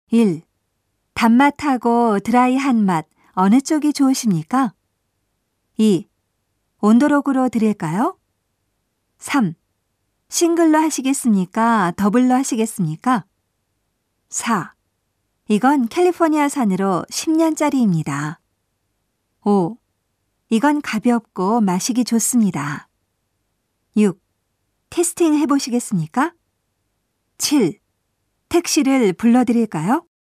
1. 단맛하고 드라이한 맛 어느 쪽이 좋으십니까? 2. 온도록으로 드릴까요? 3. 싱글로 하시겠습니까? 더블로 하시겠습니까? 4. 이건 캘리포니아산으로 10년짜리입니다. 5. 이건 가볍고 마시기 좋습니다. 6. 테스팅 해보시겠습니까? 7. 택시를 불러드릴까요?